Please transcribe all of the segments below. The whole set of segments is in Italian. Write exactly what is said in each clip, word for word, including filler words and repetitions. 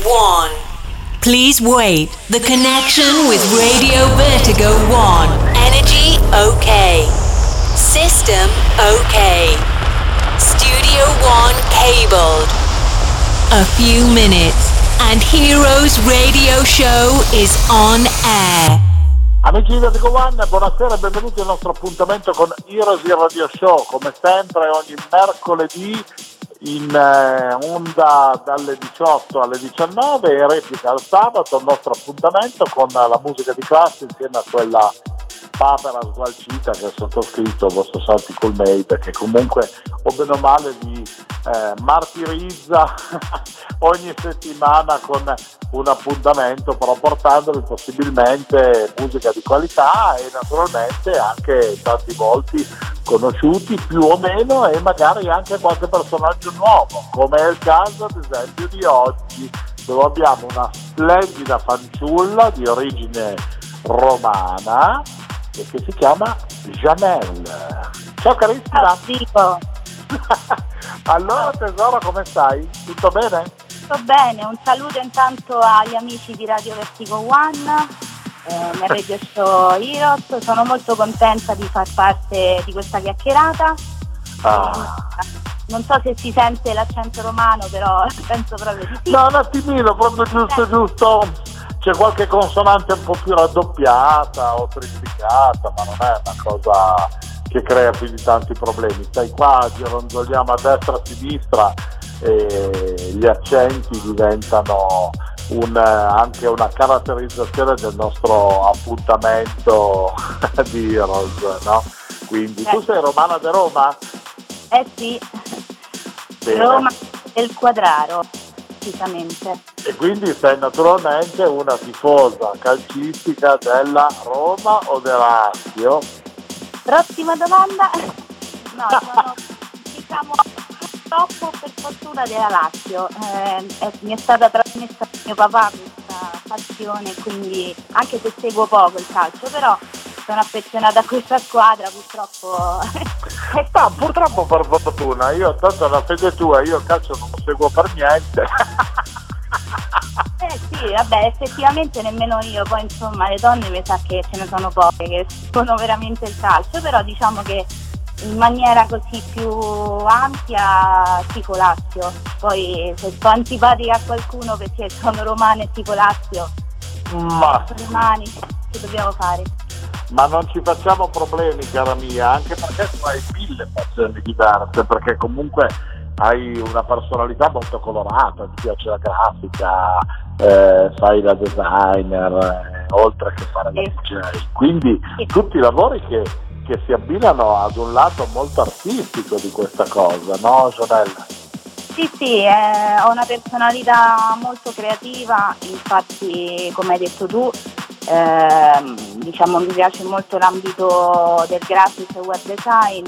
one. Please wait. The connection with Radio Vertigo one. Energy okay. System okay. Studio one cabled. A few minutes and Heroes Radio Show is on air. Amici di Vertigo One, buonasera e benvenuti al nostro appuntamento con Heroes Radio Show, come sempre ogni mercoledì in eh, onda dalle diciotto alle diciannove e replica al sabato il nostro appuntamento con la musica di classe insieme a quella papera sgualcita che è sottoscritto il vostro Santi Coolmade, che comunque o bene o male vi eh, martirizza ogni settimana con un appuntamento, però portandovi possibilmente musica di qualità e naturalmente anche tanti volti conosciuti più o meno e magari anche qualche personaggio nuovo, come è il caso ad esempio di oggi, dove abbiamo una splendida fanciulla di origine romana e che si chiama Janelle. Ciao carissima. Ciao. Allora tesoro, come stai? Tutto bene? Tutto bene, un saluto intanto agli amici di Radio Vertigo One, eh, nel Radio Show Heroes. Sono molto contenta di far parte di questa chiacchierata. Ah. Non so se si sente l'accento romano, però penso proprio di sì. No, un attimino, proprio giusto giusto. C'è qualche consonante un po' più raddoppiata o triplicata, ma non è una cosa che crea più di tanti problemi. Stai qua, gironzoliamo a destra e a sinistra e gli accenti diventano un, anche una caratterizzazione del nostro appuntamento di Heroes, no? Quindi, tu sei romana di Roma? Eh sì, Bene. Roma del Quadraro, precisamente. E quindi sei naturalmente una tifosa calcistica della Roma o della Lazio? Prossima domanda. No, sono diciamo purtroppo per fortuna della Lazio. Eh, eh, mi è stata trasmessa da mio papà questa passione, quindi anche se seguo poco il calcio, però sono affezionata a questa squadra, purtroppo. No, purtroppo per fortuna, io tanto la fede tua, io il calcio non lo seguo per niente. Eh sì, vabbè, effettivamente nemmeno io, poi insomma le donne mi sa che ce ne sono poche che sono veramente il calcio, però diciamo che in maniera così più ampia tifo Lazio. Poi se sto antipatica a qualcuno perché sono romana e tifo Lazio, Ma, romani, che dobbiamo fare? ma non ci facciamo problemi, cara mia, anche perché tu hai mille passioni diverse, perché comunque hai una personalità molto colorata, ti piace la grafica, eh, fai la designer, eh, oltre che fare la D J, quindi tutti i lavori che, che si abbinano ad un lato molto artistico di questa cosa, no Janelle? Sì, sì, eh, ho una personalità molto creativa, infatti come hai detto tu, eh, diciamo mi piace molto l'ambito del graphic e web design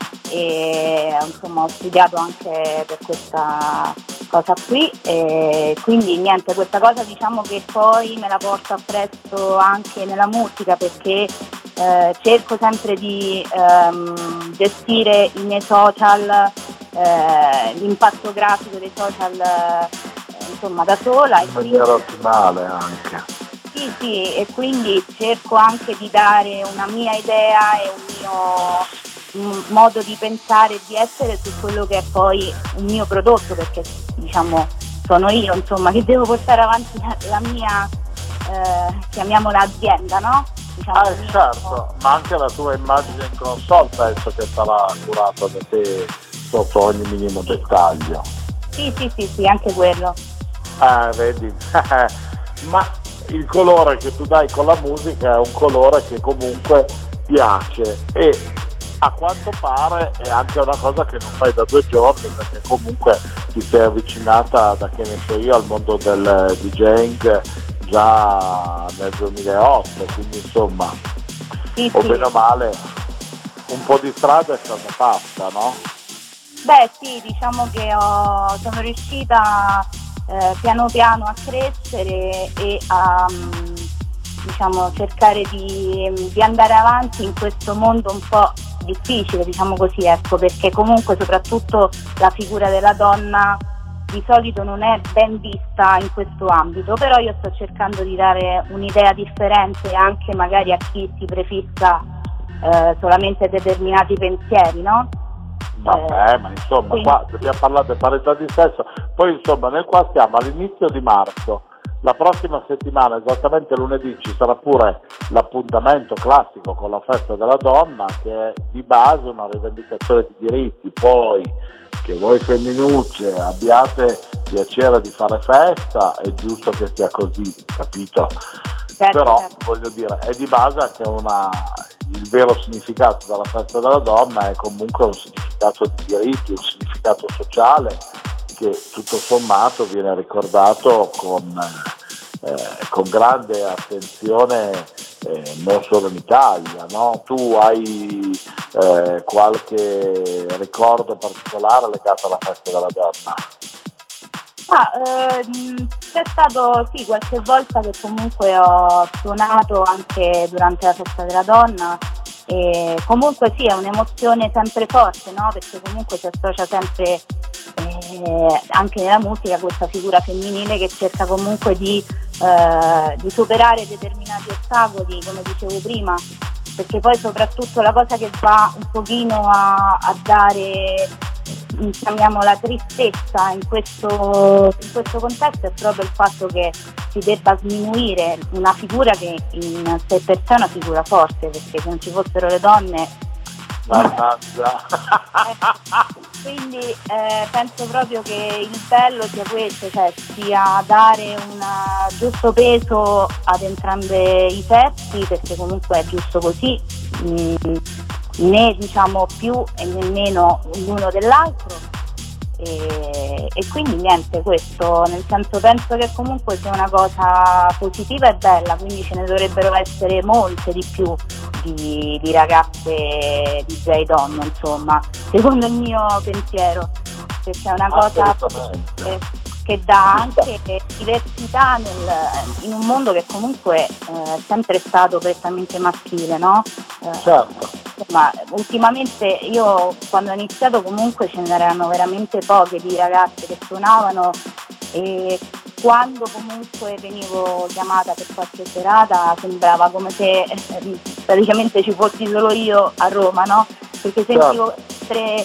e insomma ho studiato anche per questa cosa qui e quindi niente, questa cosa diciamo che poi me la porto appresso anche nella musica, perché eh, cerco sempre di ehm, gestire i miei social, eh, l'impatto grafico dei social eh, insomma da sola, In maniera ottimale anche. sì sì, e quindi cerco anche di dare una mia idea e un mio un modo di pensare e di essere su quello che è poi un mio prodotto, perché diciamo sono io insomma che devo portare avanti la, la mia eh, chiamiamola azienda, no? Diciamo, Ah, certo, ma anche la tua immagine in console penso che sarà curata da te sotto ogni minimo dettaglio. sì sì sì sì, anche quello. Ah, vedi, ma il colore che tu dai con la musica è un colore che comunque piace e a quanto pare è anche una cosa che non fai da due giorni, perché comunque ti sei avvicinata, da che ne so io, al mondo del DJing già nel duemilaotto, quindi insomma Sì, o sì. bene o male un po' di strada è stata fatta, no? Beh sì, diciamo che ho, sono riuscita eh, piano piano a crescere e a um, diciamo cercare di, di andare avanti in questo mondo un po' difficile, diciamo così, ecco, perché comunque soprattutto la figura della donna di solito non è ben vista in questo ambito, però io sto cercando di dare un'idea differente anche magari a chi si prefissa eh, solamente determinati pensieri, no? Vabbè, ma insomma quindi, qua dobbiamo parlare di parità di sesso, poi insomma noi qua siamo all'inizio di marzo, la prossima settimana, esattamente lunedì, ci sarà pure l'appuntamento classico con la festa della donna, che è di base una rivendicazione di diritti. Poi che voi femminucce abbiate piacere di fare festa, è giusto che sia così, capito? certo, Però certo. voglio dire, è di base anche una, il vero significato della festa della donna è comunque un significato di diritti, un significato sociale che tutto sommato viene ricordato con, eh, con grande attenzione eh, non solo in Italia, no? Tu hai eh, qualche ricordo particolare legato alla festa della donna? Ah, ehm, c'è stato sì qualche volta che comunque ho suonato anche durante la festa della donna, e comunque sì, è un'emozione sempre forte, no? Perché comunque si associa sempre eh, anche nella musica questa figura femminile che cerca comunque di, eh, di superare determinati ostacoli, come dicevo prima, perché poi soprattutto la cosa che va un pochino a, a dare, chiamiamola, tristezza in questo, in questo contesto è proprio il fatto che si debba sminuire una figura che in sé per sé è una figura forte, perché se non ci fossero le donne Mannaggia. eh, quindi eh, penso proprio che il bello sia questo, cioè sia dare un giusto peso ad entrambi i sessi, perché comunque è giusto così, mm, né diciamo più e nemmeno l'uno dell'altro, e, e quindi niente, questo nel senso penso che comunque sia una cosa positiva e bella, quindi ce ne dovrebbero essere molte di più di, di ragazze D J donne, insomma, secondo il mio pensiero, perché è una cosa che, che dà anche diversità nel, in un mondo che comunque eh, è sempre stato prettamente maschile, no? Eh, certo. Ma ultimamente io quando ho iniziato comunque ce n'erano veramente poche di ragazze che suonavano, e quando comunque venivo chiamata per qualche serata sembrava come se eh, praticamente ci fossi solo io a Roma, no? Perché sentivo sempre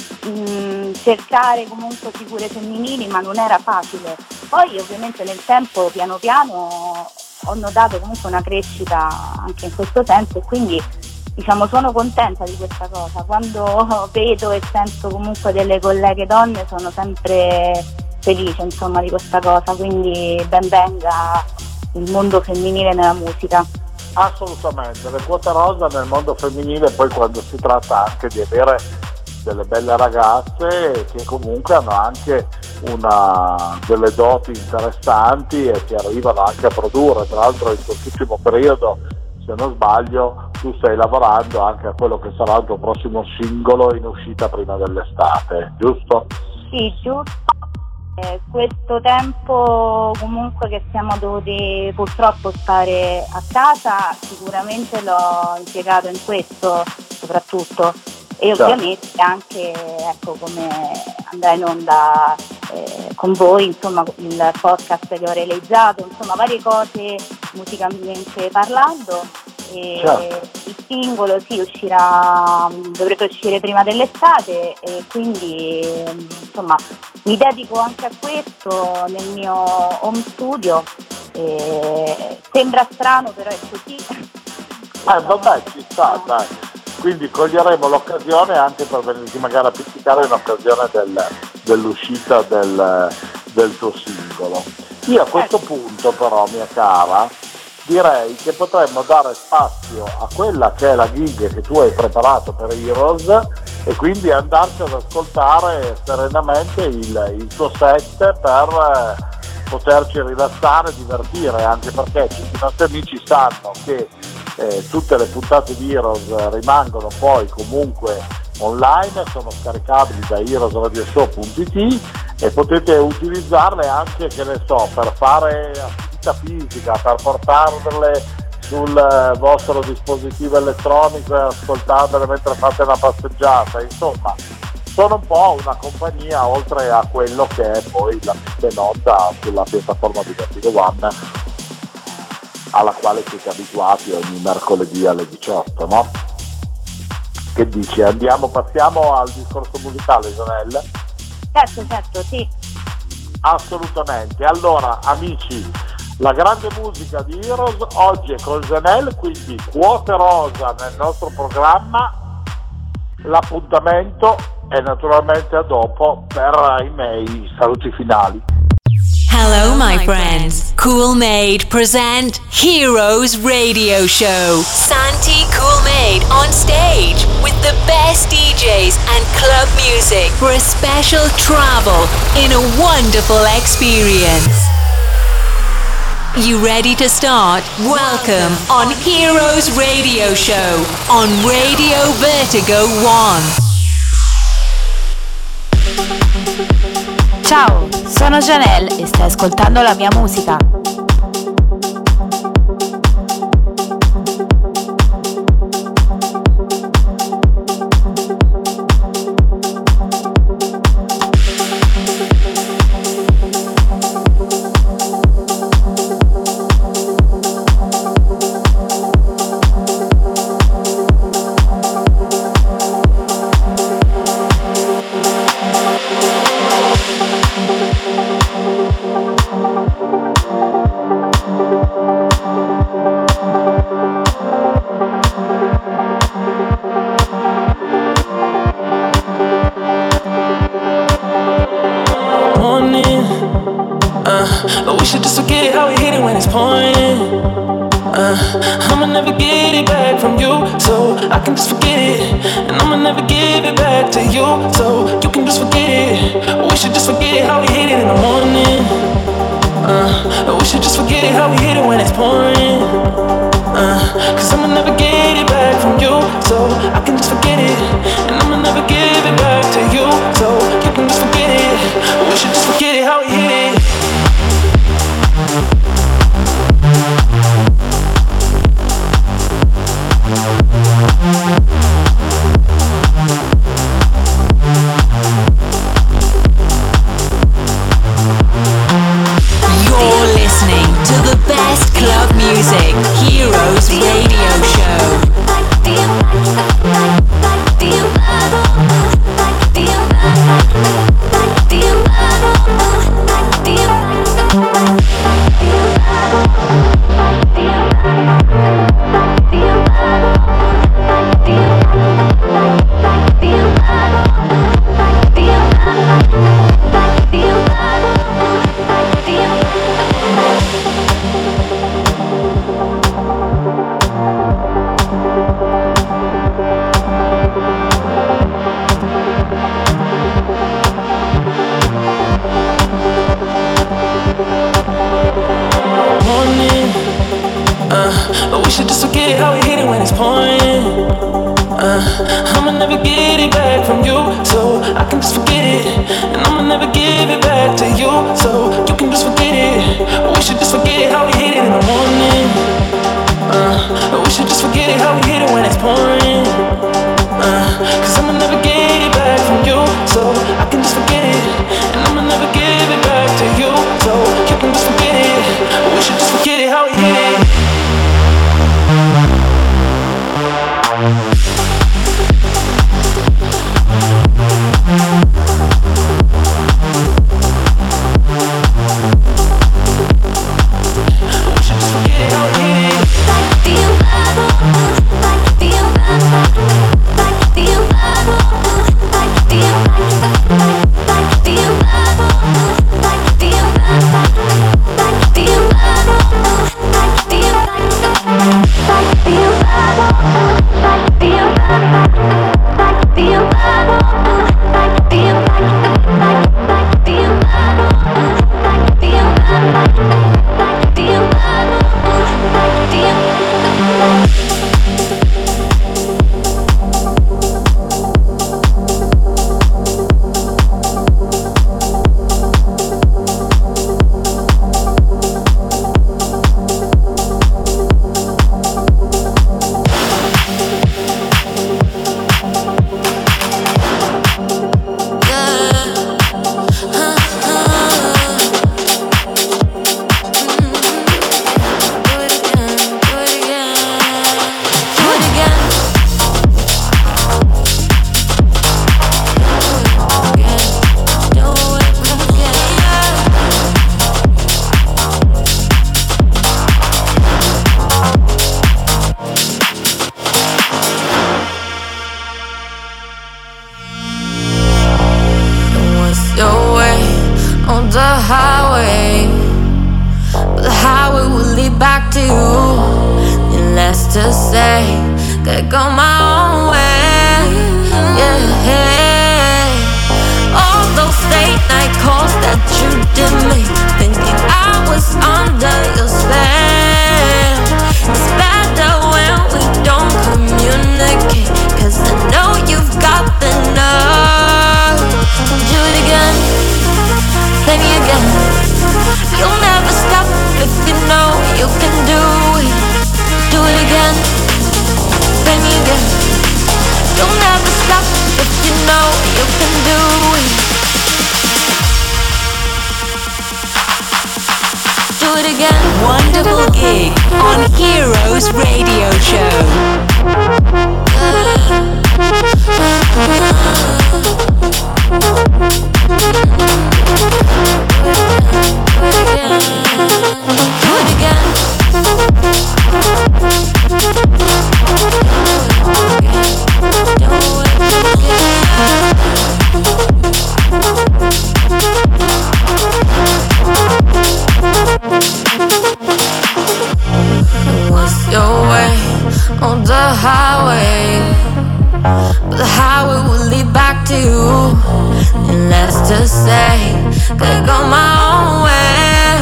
mh, cercare comunque figure femminili, ma non era facile. Poi ovviamente nel tempo piano piano ho notato comunque una crescita anche in questo senso, e quindi diciamo sono contenta di questa cosa. Quando vedo e sento comunque delle colleghe donne sono sempre felice, insomma, di questa cosa, quindi ben venga il mondo femminile nella musica. Assolutamente, le quote rosa nel mondo femminile, poi quando si tratta anche di avere delle belle ragazze che comunque hanno anche una, delle doti interessanti e che arrivano anche a produrre. Tra l'altro in quest'ultimo periodo, se non sbaglio, tu stai lavorando anche a quello che sarà il tuo prossimo singolo in uscita prima dell'estate, giusto? Sì, giusto. Eh, questo tempo comunque che siamo dovuti purtroppo stare a casa sicuramente l'ho impiegato in questo soprattutto, e certo. Ovviamente anche, ecco, come andrà in onda eh, con voi, insomma, il podcast che ho realizzato, insomma varie cose musicalmente parlando, e certo. Il singolo sì uscirà, dovrebbe uscire prima dell'estate, e quindi insomma mi dedico anche a questo nel mio home studio, e sembra strano però è così. Eh vabbè, ci sta, dai. Quindi coglieremo l'occasione anche per venirti magari a pizzicare in occasione del, dell'uscita del, del tuo singolo. Io a questo punto però, mia cara, direi che potremmo dare spazio a quella che è la gig che tu hai preparato per Heroes, e quindi andarci ad ascoltare serenamente il, il tuo set per eh, poterci rilassare, divertire, anche perché tutti i nostri amici sanno che eh, tutte le puntate di Heroes rimangono poi comunque online, sono scaricabili da heroes radio show punto it e potete utilizzarle anche, che ne so, per fare attività fisica, per portarle sul vostro dispositivo elettronico e ascoltarle mentre fate una passeggiata, insomma sono un po' una compagnia oltre a quello che è poi la messa in onda sulla piattaforma di Vertigo One, alla quale siete abituati ogni mercoledì alle diciotto, no? Che dici? Andiamo, passiamo al discorso musicale, Janelle? Certo, certo, sì. Assolutamente. Allora, amici, la grande musica di Heroes oggi è con Janelle, quindi quote rosa nel nostro programma. L'appuntamento è naturalmente a dopo per i miei saluti finali. Hello, my friends. Cool Maid present Heroes Radio Show. Santi Cool Maid on stage with the best D Js and club music for a special travel in a wonderful experience. You ready to start? Welcome on Heroes Radio Show on Radio Vertigo One. Ciao, sono Janelle e stai ascoltando la mia musica. Like the highway, but the highway will lead back to you. And less to say, could go my own way. Yeah, all those late night calls that you did me, thinking I was under your spell. It's better when we don't communicate, 'cause I know you've got the nerve. Do it again, play me again. You'll never stop if you know you can do it. Do it again, play me again. You'll never stop if you know you can do it. Do it again. Wonderful gig on Heroes Radio Show. Do it again. What's your way on the highway? But the highway will lead back to you. And less to say, could go my own way.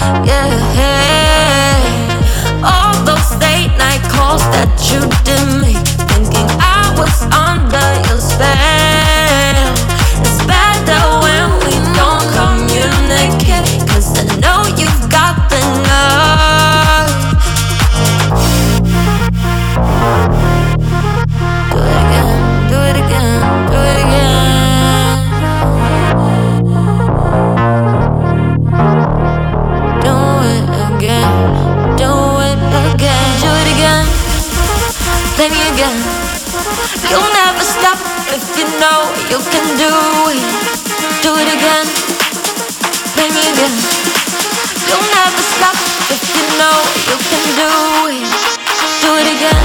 Yeah, all those late night calls that you did me, thinking I was under your spell. It's better when we don't communicate, 'cause I know you've got the nerve. Do it again, do it again, do it again. Do it again, do it again, do it again. Play me again. You'll never stop if you know you can do it. Do it again, play me again. You'll never stop if you know you can do it. Do it again.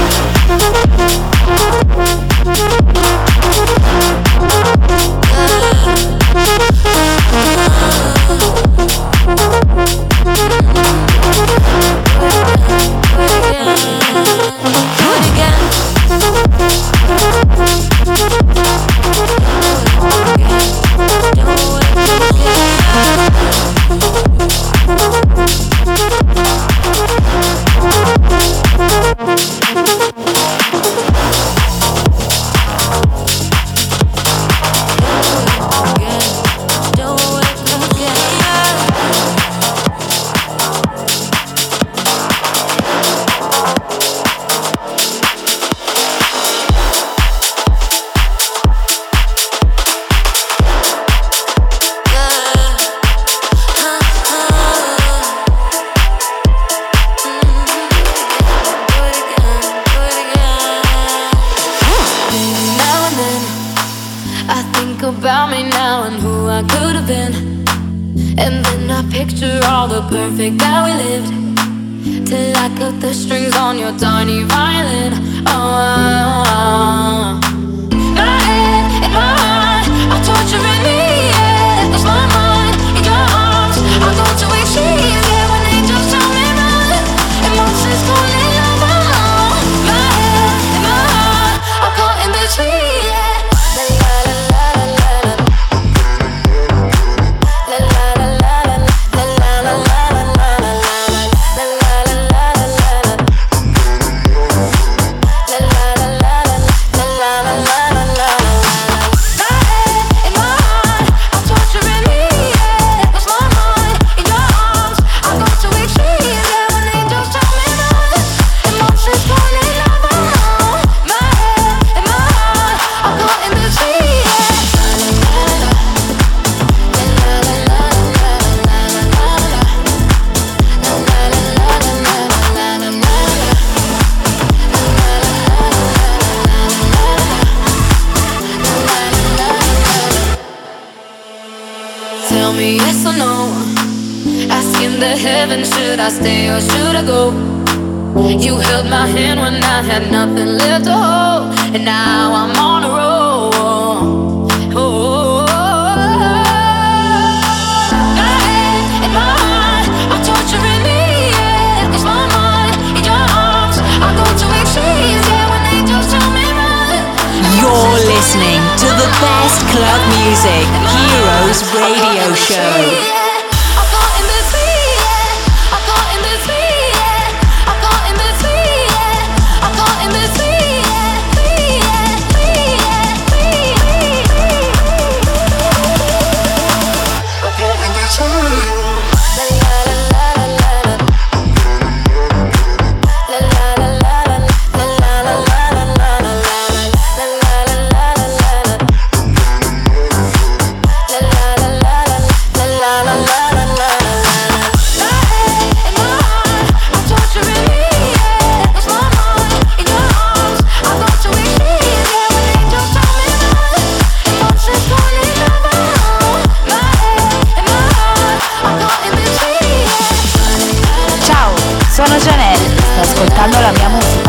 Do it again. About me now and who I could have been, and then I picture all the perfect that we lived, till I cut the strings on your tiny violin. Oh, my head in my heart, I'm torturing me, yeah. 'Cause my mind in your arms, I go to extremes, yeah. When angels tell me run, emotions falling over. My head in my heart, I'm caught in between, yeah. Tell me yes or no. Asking the heavens, should I stay or should I go? You held my hand when I had nothing left to hold, and now I'm on a roll. Oh, oh, oh, oh. music. Heroes Radio Show. Sono Janelle, stai ascoltando la mia musica.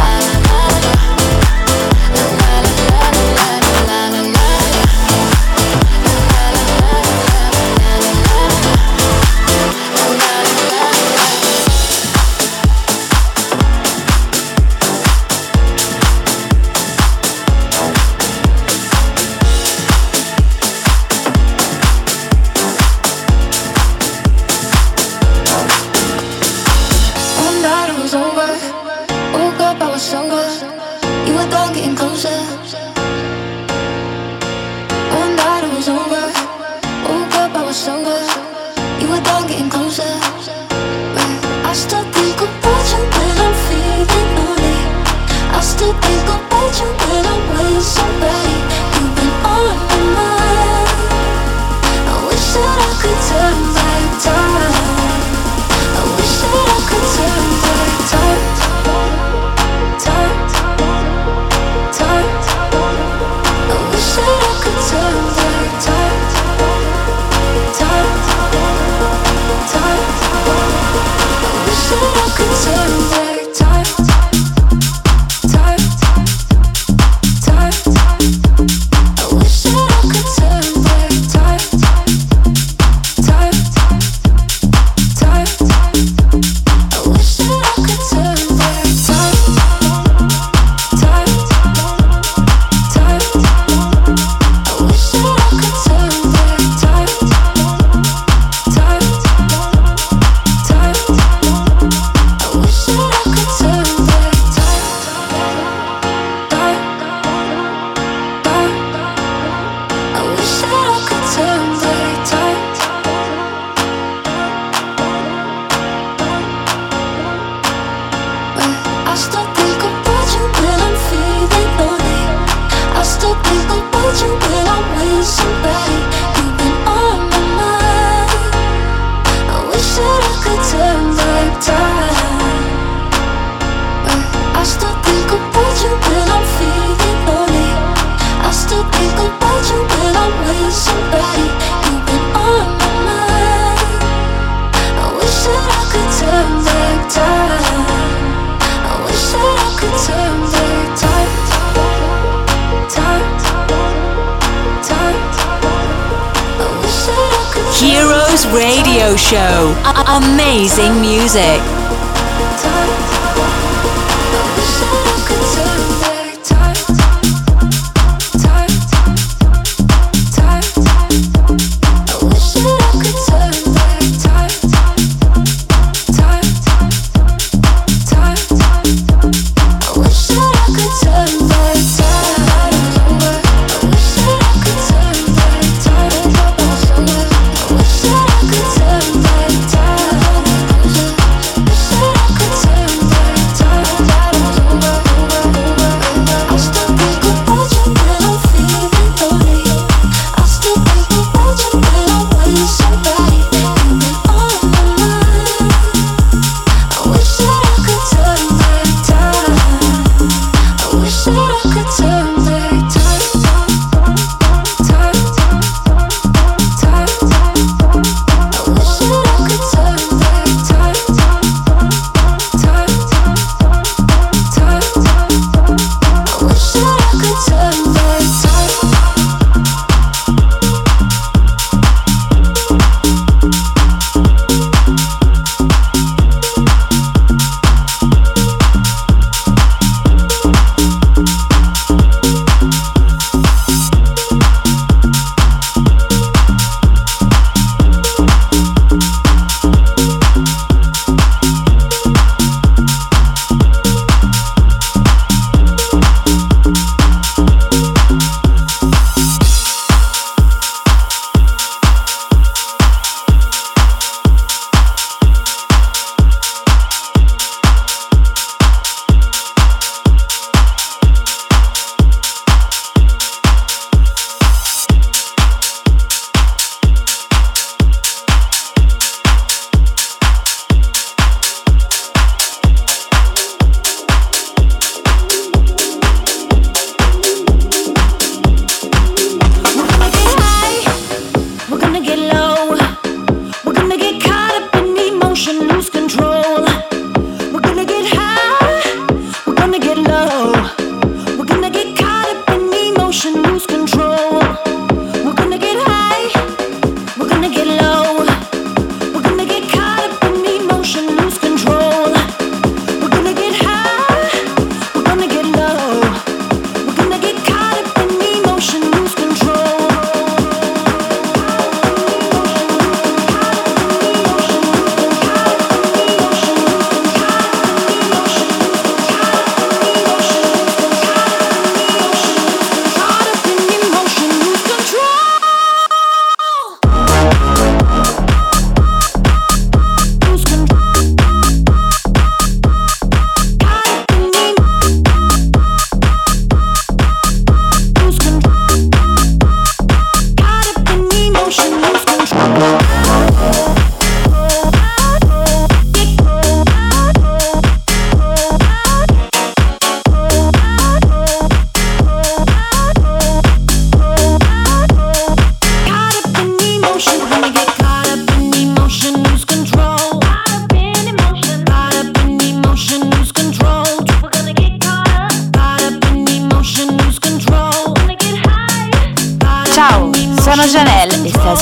Heroes Radio Show. A- amazing music. Time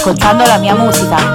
ascoltando la mia musica.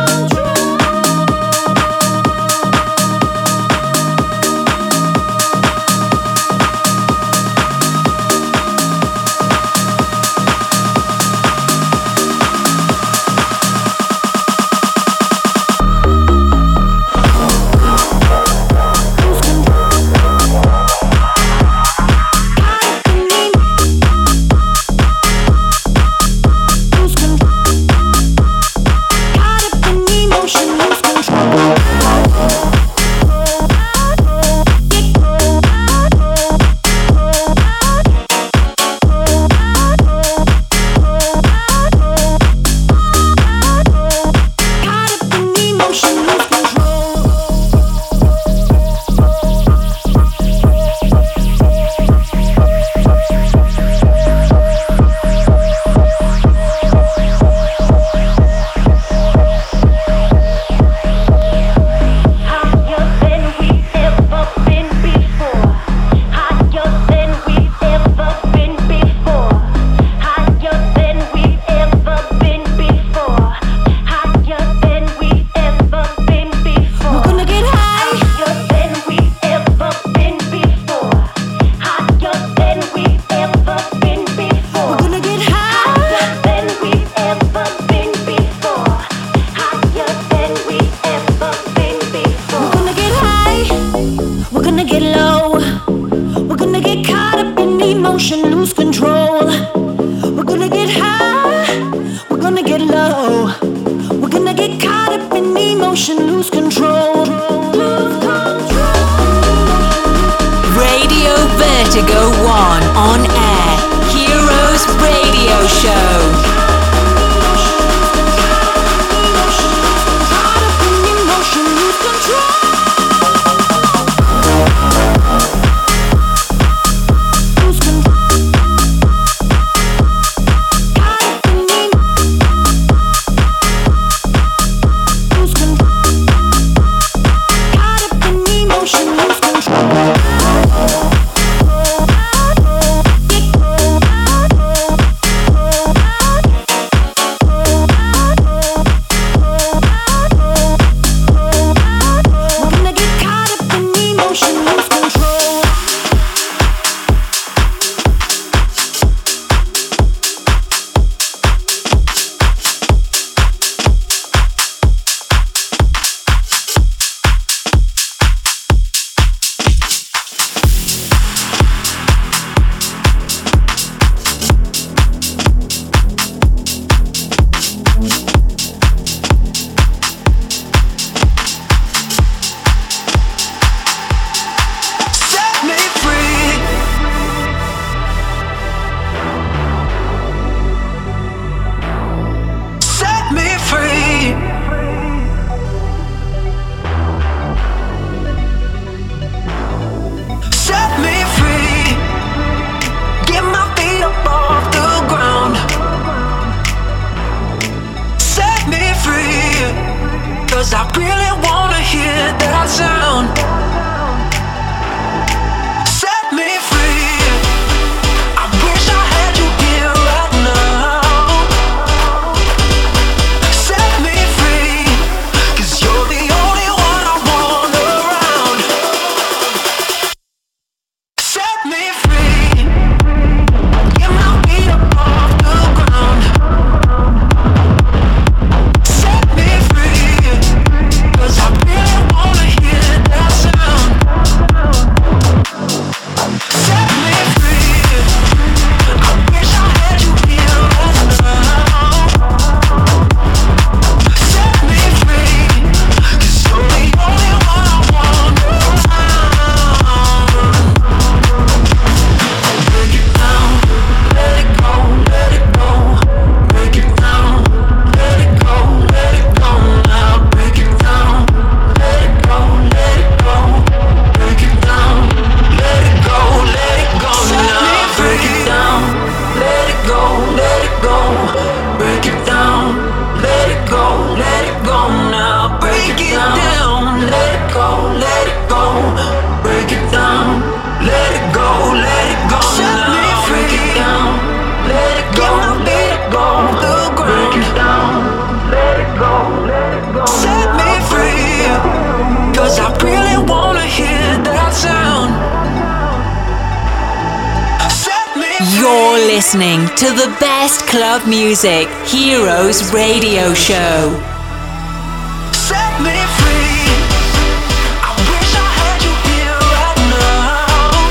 You're listening to the best club music, Heroes Radio Show. Set me free. I wish I had you here right now.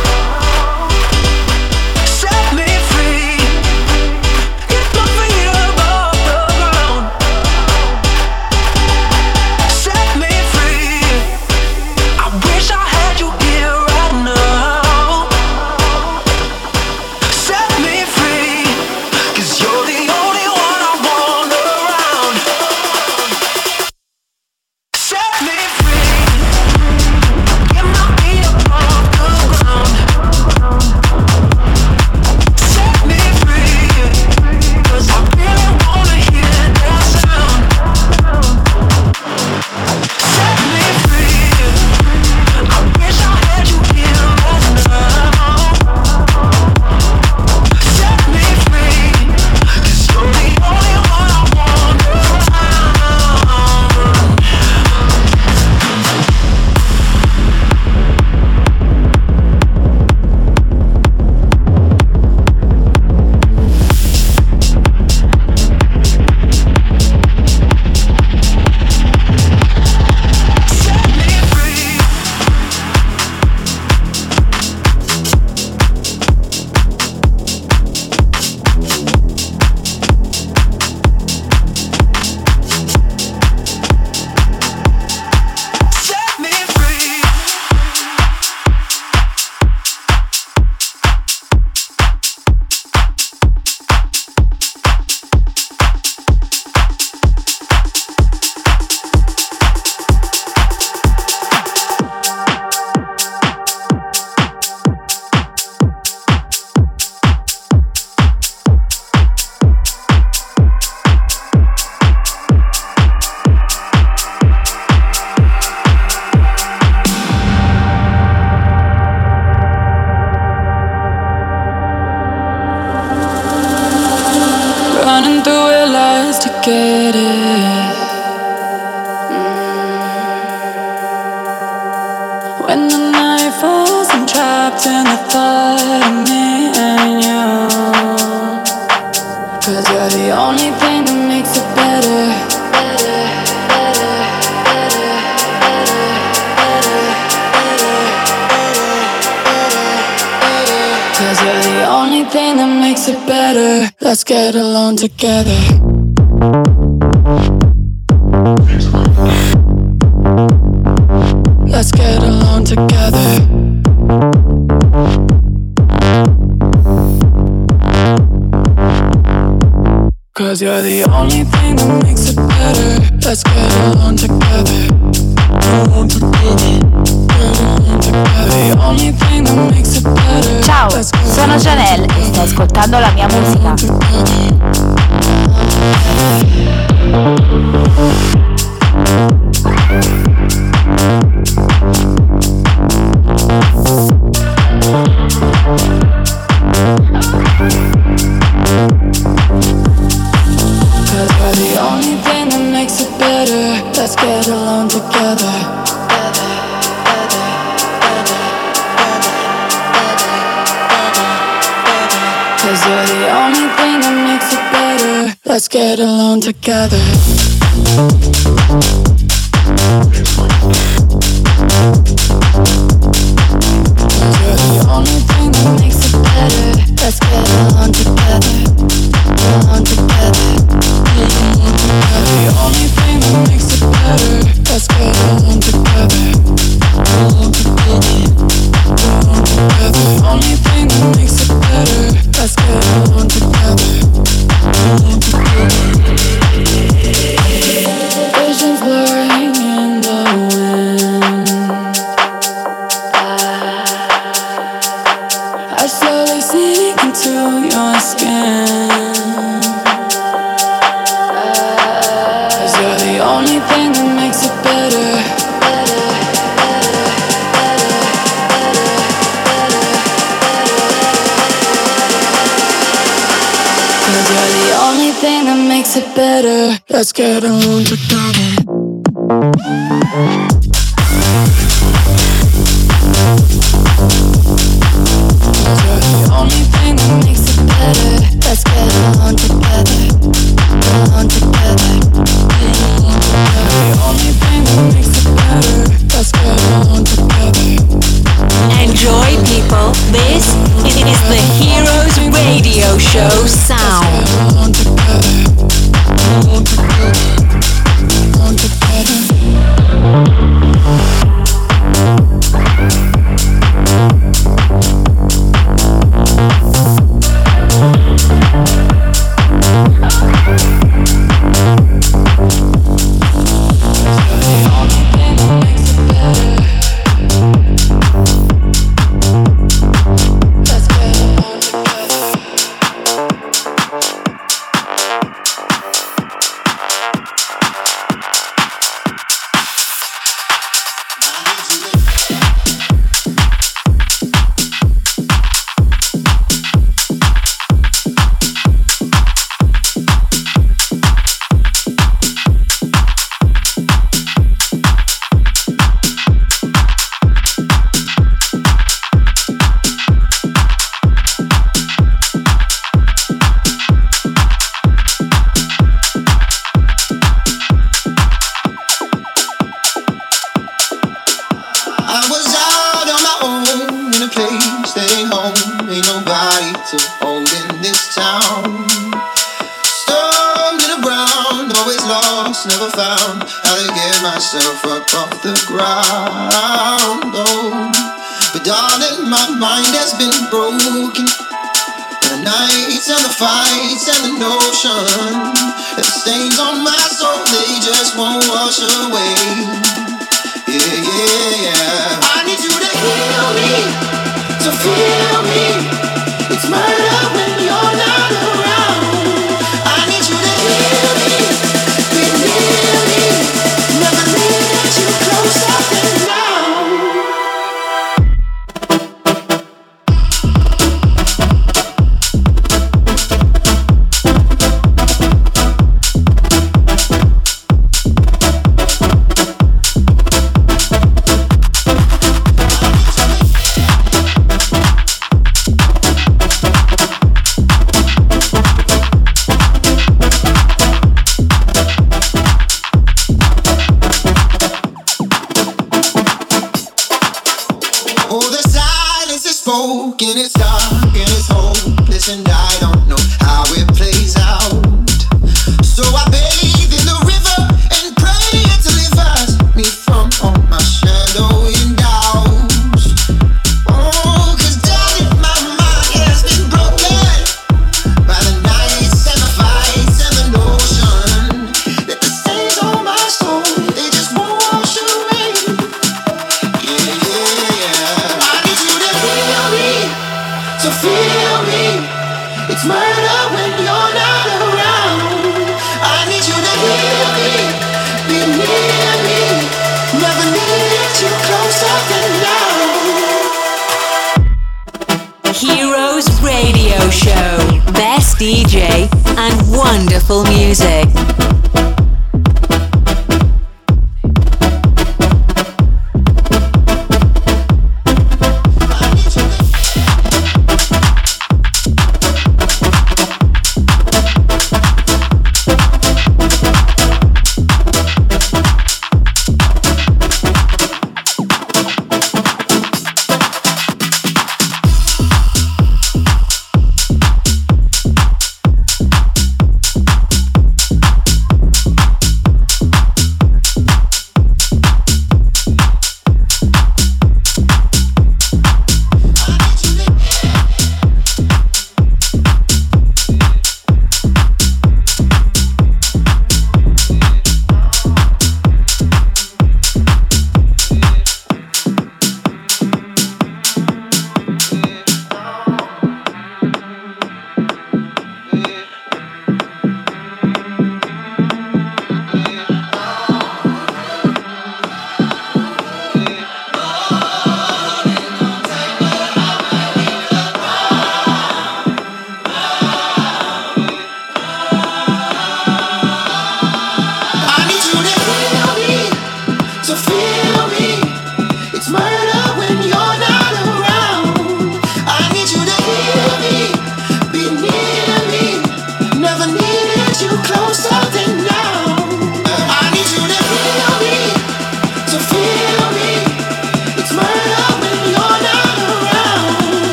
Set me free. Get my feet above the ground. Set me free. I wish I had you here right now. Set me free. 'Cause you're the only one I want around. Set me free. Get my feet above the ground. Set me free. 'Cause I really wanna hear that sound. Set me free. I wish I had you here right now. Set me free. 'Cause you're the only one I want around. Set me free. Set me free. Running through our lives to get it. When the night falls, I'm trapped in the thought of me and you. 'Cause you're the only thing that makes it better. Better, better, better, better, better, better, better. 'Cause you're the only thing that makes it better. Let's get along together. Let's get along together. Cause you're the only thing that makes it better. Let's get along together. Along together. Get along together. The only thing that makes it better. Ciao, Let's get sono along Janelle e stai ascoltando la mia musica. Cause you're the only thing that makes it better. Let's get along together. Better, better, better, better, better, better, better. Cause you're the only thing that makes it better. Let's get along together. Cause you're the only thing that makes it better. Let's get along together. Along together. The only thing that makes it better. Let's get along together. Along together. Along together. The only thing that makes it better. Let's get along together. Along together. Visions blurring in the wind. I slowly sink into your skin. Cause you're the only thing that makes it better. Better, better, better, better, better, better. Cause you're the only thing that makes it better. Let's get along together. Cause you're the only thing that makes it better. found how to get myself up off the ground. Oh, but darling, my mind has been broken. The nights and the fights and the notion that the stains on my soul, they just won't wash away. Yeah, yeah, yeah. I need you to heal me, to feel me. It's murder when you're not around. I need you to heal me, be near me. Never let you closer than now. And it's dark and it's hopeless and I don't know how it plays out. So I bathe in the river and pray it delivers me from all my shadowing doubts. Oh, cause darling, my mind has been broken by the nights and the fights and the notion that the stains on my soul, they just won't wash away. Yeah, yeah, yeah. I need you to heal me, to feel me. It's murder when you're not around. I need you to heal me, be near me. Never needed you closer than now. Heroes Radio Show. Best D J and wonderful music.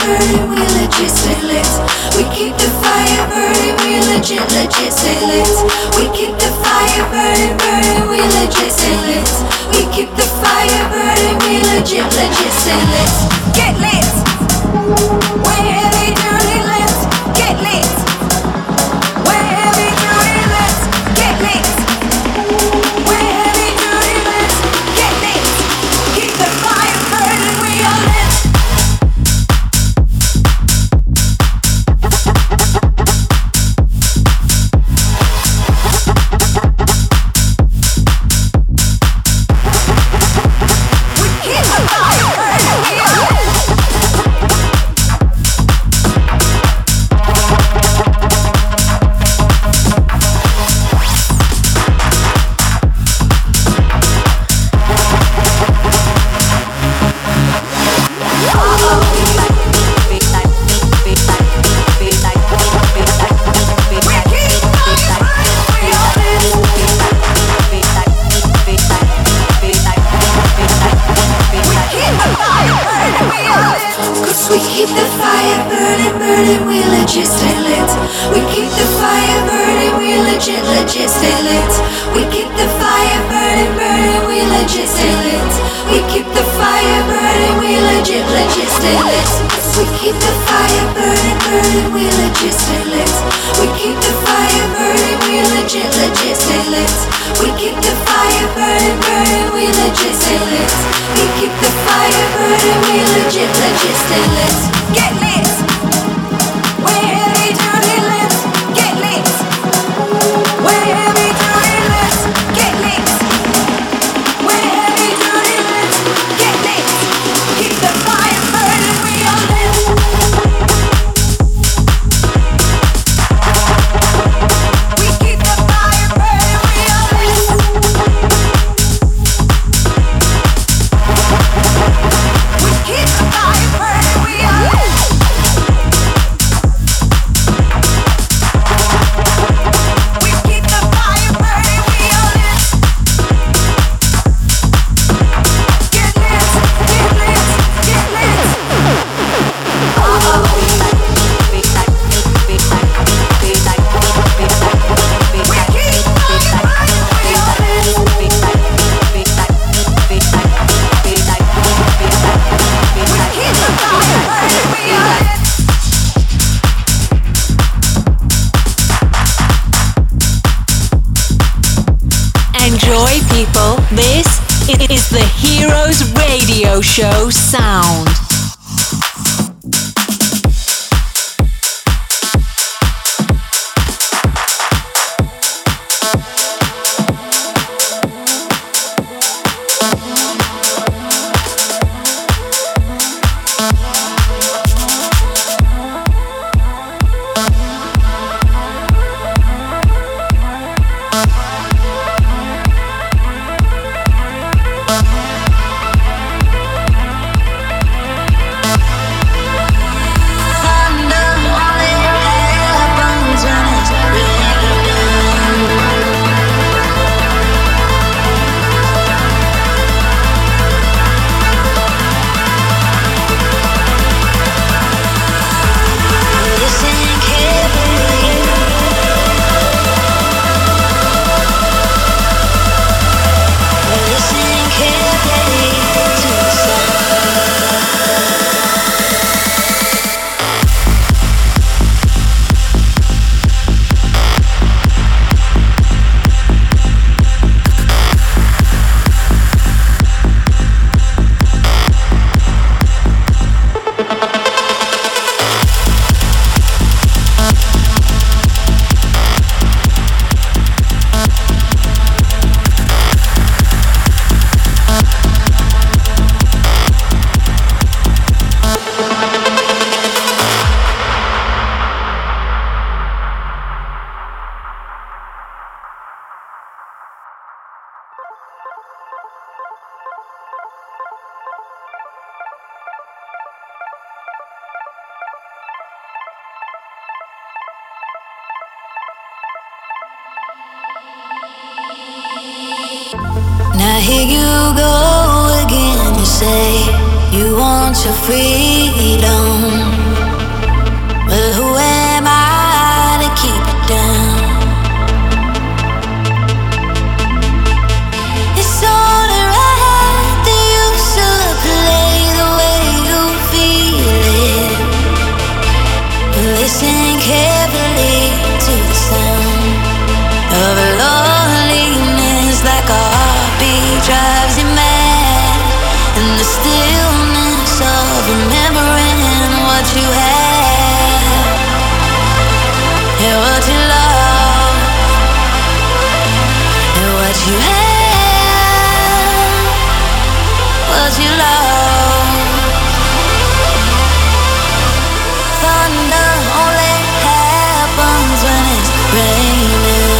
burning, we legit stay lit. We keep the fire burning, we legit, legit stay lit. We keep the fire burning, burning, we legit stay lit. We keep the fire burning, we legit, legit stay lit. Get lit. We're heavy duty lit. Get lit. We're heavy duty lit. Get lit. We're heavy duty lit. Get lit. Keep the fire burning, we are lit. We keep the fire burning, burning, we legit stay lit. We keep the fire burning, we legit, legit stay lit. We keep the fire burning, burning, we legit stay lit. We keep the fire burning, we legit, legit stay lit. We keep the fire burning, burning, we legit stay lit. We keep the fire burning, we legit, legit stay lit. We keep the fire burning, burning, we legit stay lit. We keep the fire burning, we legit, legit stay lit. Get lit. We're heavy duty lit. Get lit. We're heavy duty lit. Get lit. We're heavy duty lit. Get lit. Keep the fire burning, we are lit. We keep the fire burning, we are lit. We keep the fire burning, we are lit. We keep the fire burning, we are lit. Get lit, get lit, get lit. We keep the fire burning, we are lit. We keep the fire burning, we are lit. Enjoy, people. This is the Heroes Radio Show sound. Now here you go again, you say you want your freedom. But who am I to keep it down? It's only right that you should play the way you feel it. But listen carefully to the sound of loneliness, like a heartbeat drives you mad, and the stillness of remembering what you had and what you love and what you had, what you love. Thunder only happens when it's raining.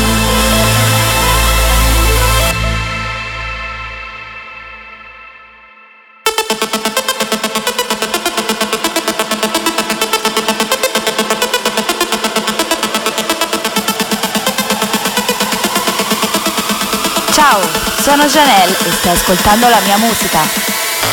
Ciao, sono Janelle e stai ascoltando la mia musica.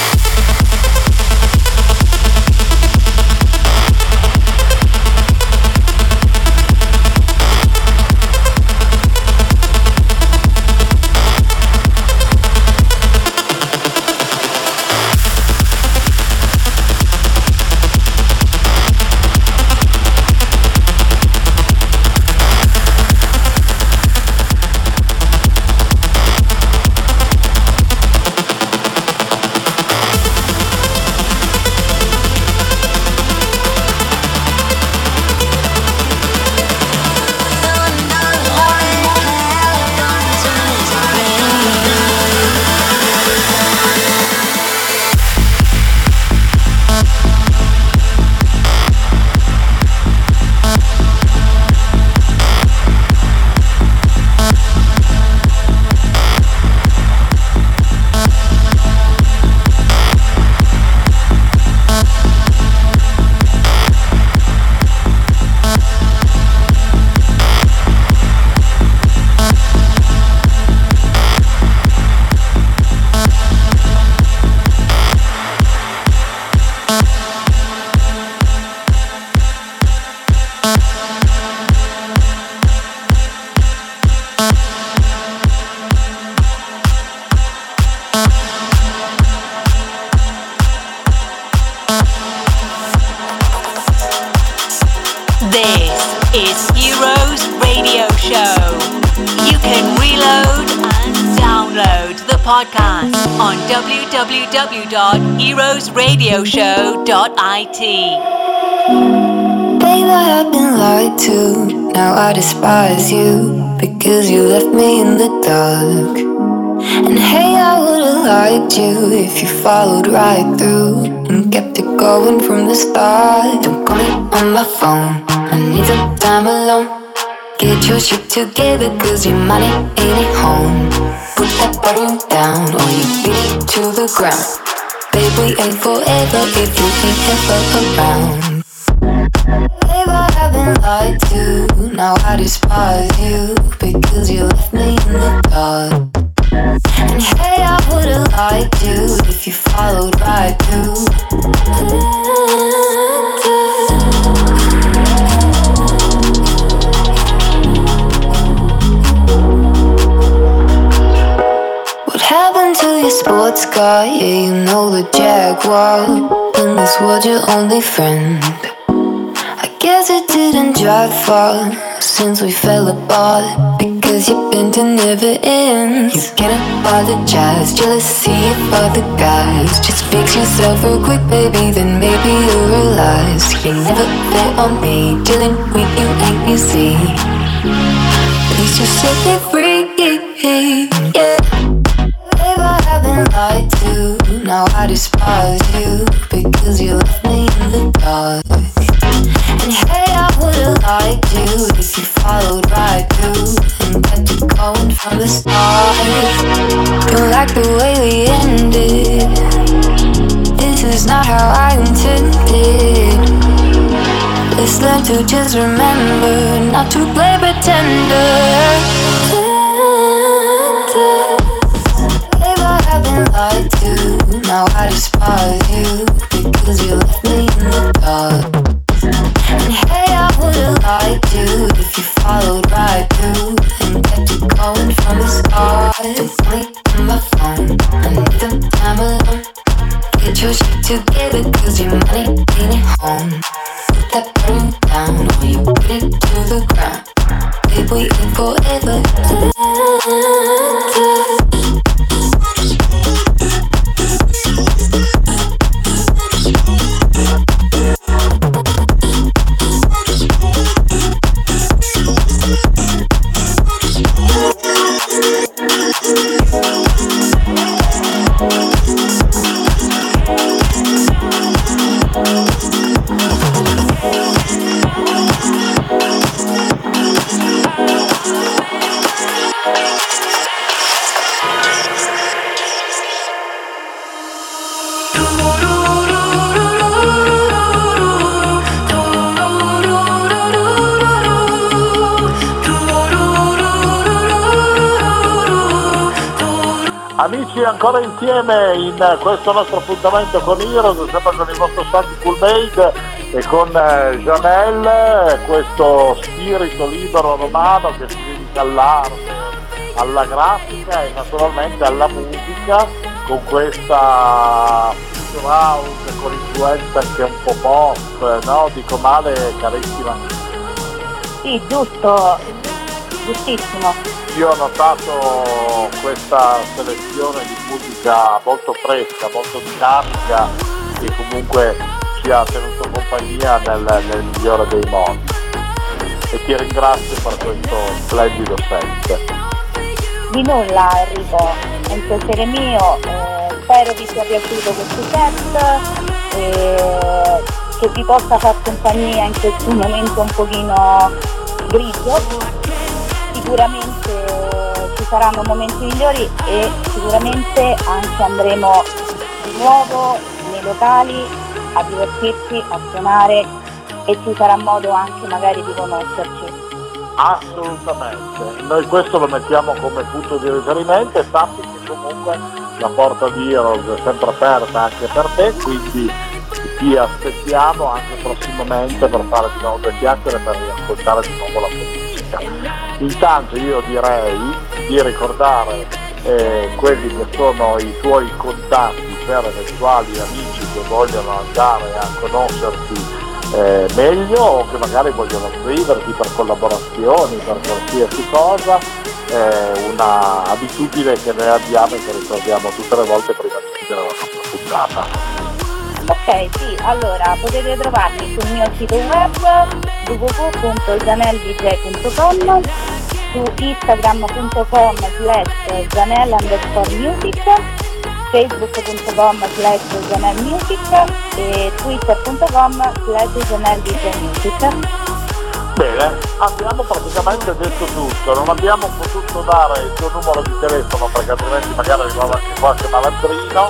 Podcast on w w w dot heroes radio show dot i t. Babe, I have been lied to. Now I despise you because you left me in the dark. And hey, I would've liked you if you followed right through and kept it going from the start. Don't call me on my phone, I need some time alone. Get your shit together, cause your money ain't at home. Put that button down or you beat it to the ground. Babe, we ain't forever if you ain't ever around. Babe, I haven't lied to. Now I despise you because you left me in the dark. And hey, I would've liked you if you followed right through. Happened to your sports car? Yeah, you know the Jaguar. In this world, your only friend. I guess it didn't drive far since we fell apart, because you've been to never ends. You can't apologize, jealousy of other guys. Just fix yourself real quick, baby, then maybe you'll realize you never bet on me. Dealing with you ain't easy. Please just set me free, yeah. Babe, I haven't lied to. Now I despise you because you left me in the dark. And hey, I would've liked you if you followed right through and kept it going from the start. Don't like the way we ended. This is not how I intended. Let's learn to just remember not to play pretender. Lied to. Now I despise you because you left me in the dark. And your shit together, cause your money ain't at home. Put that broom down, or you put it to the ground. Babe, we ain't forever. Amici, ancora insieme in questo nostro appuntamento con Heroes, sempre con il vostro Santi Cool Made e con eh, Janelle, questo spirito libero romano che si dedica all'arte, alla grafica e naturalmente alla musica, con questa future house con influenza anche un po' pop, no? Dico male, carissima? Sì, giusto, giustissimo. Io ho notato questa selezione di musica molto fresca, molto dinamica, che comunque ci ha tenuto compagnia nel, nel migliore dei modi. E ti ringrazio per questo splendido set. Di nulla Enrico, è un piacere mio, eh, spero vi sia piaciuto questo set, eh, che vi possa far compagnia in questo momento un pochino grigio. Sicuramente ci saranno momenti migliori e sicuramente anche andremo di nuovo nei locali a divertirci, a suonare e ci sarà modo anche magari di conoscerci. Assolutamente, noi questo lo mettiamo come punto di riferimento e sappi che comunque la porta di Heroes è sempre aperta anche per te, quindi ti aspettiamo anche prossimamente per fare di nuovo due chiacchiere, per riascoltare di nuovo la tua musica. Intanto io direi di ricordare eh, quelli che sono i tuoi contatti per eventuali amici che vogliono andare a conoscerti eh, meglio o che magari vogliono scriverti per collaborazioni, per qualsiasi cosa, eh, una abitudine che noi abbiamo e che ricordiamo tutte le volte prima di chiudere la nostra puntata. Ok, sì, allora potete trovarmi sul mio sito web w w w punto janelle d j punto com, su instagram punto com slash janelle underscore music, facebook punto com slash janelle music e twitter punto com slash janelle d j music. Bene, abbiamo praticamente detto tutto, non abbiamo potuto dare il tuo numero di telefono perché altrimenti magari arrivava anche qualche malandrino.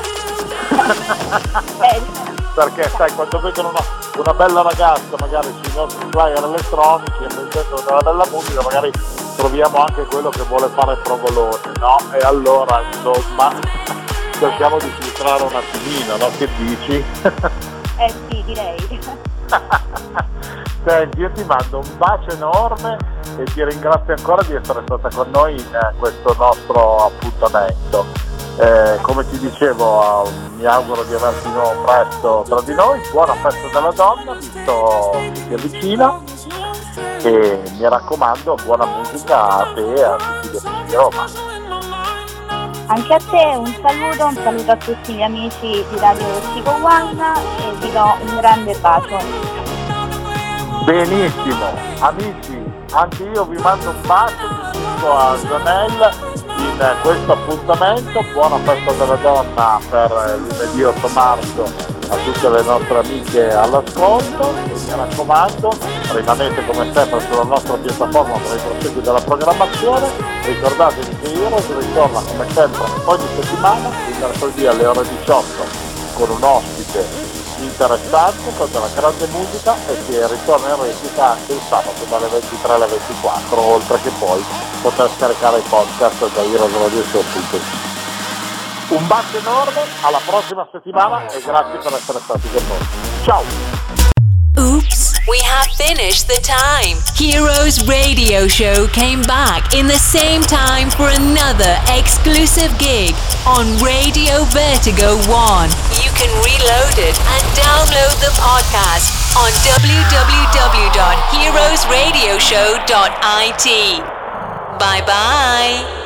Perché sai, quando vedono una, una bella ragazza magari sui nostri flyer elettronici e mettendo della bella musica magari troviamo anche quello che vuole fare provolone, no? E allora insomma cerchiamo di filtrare un attimino, no? Che dici? Eh sì, direi. Senti, io ti mando un bacio enorme e ti ringrazio ancora di essere stata con noi in questo nostro appuntamento. Eh, come ti dicevo, eh, mi auguro di averti di nuovo presto tra di noi. Buona festa della donna, visto che si avvicina, e mi raccomando, buona musica a te e a tutti gli amici di Roma. Anche a te un saluto, un saluto a tutti gli amici di Radio Chico One e vi do un grande bacio. Benissimo, amici, anche io vi mando un bacio, vi dico a Janelle in questo appuntamento. Buona festa della donna per lunedì otto marzo a tutte le nostre amiche all'ascolto e mi raccomando, rimanete come sempre sulla nostra piattaforma per il proseguo della programmazione. Ricordatevi che Heroes ritorna come sempre ogni settimana il mercoledì alle ore diciotto con un ospite interessante, con della grande musica, e che ritorna in replica anche il sabato dalle ventitré alle ventiquattro, oltre che poi poter scaricare i podcast da heroes radio show punto it. Un bacio enorme, alla prossima settimana e grazie per essere stati con noi. Ciao! Oops. We have finished the time. Heroes Radio Show came back in the same time for another exclusive gig on Radio Vertigo one. You can reload it and download the podcast on w w w dot heroes radio show dot i t. Bye bye.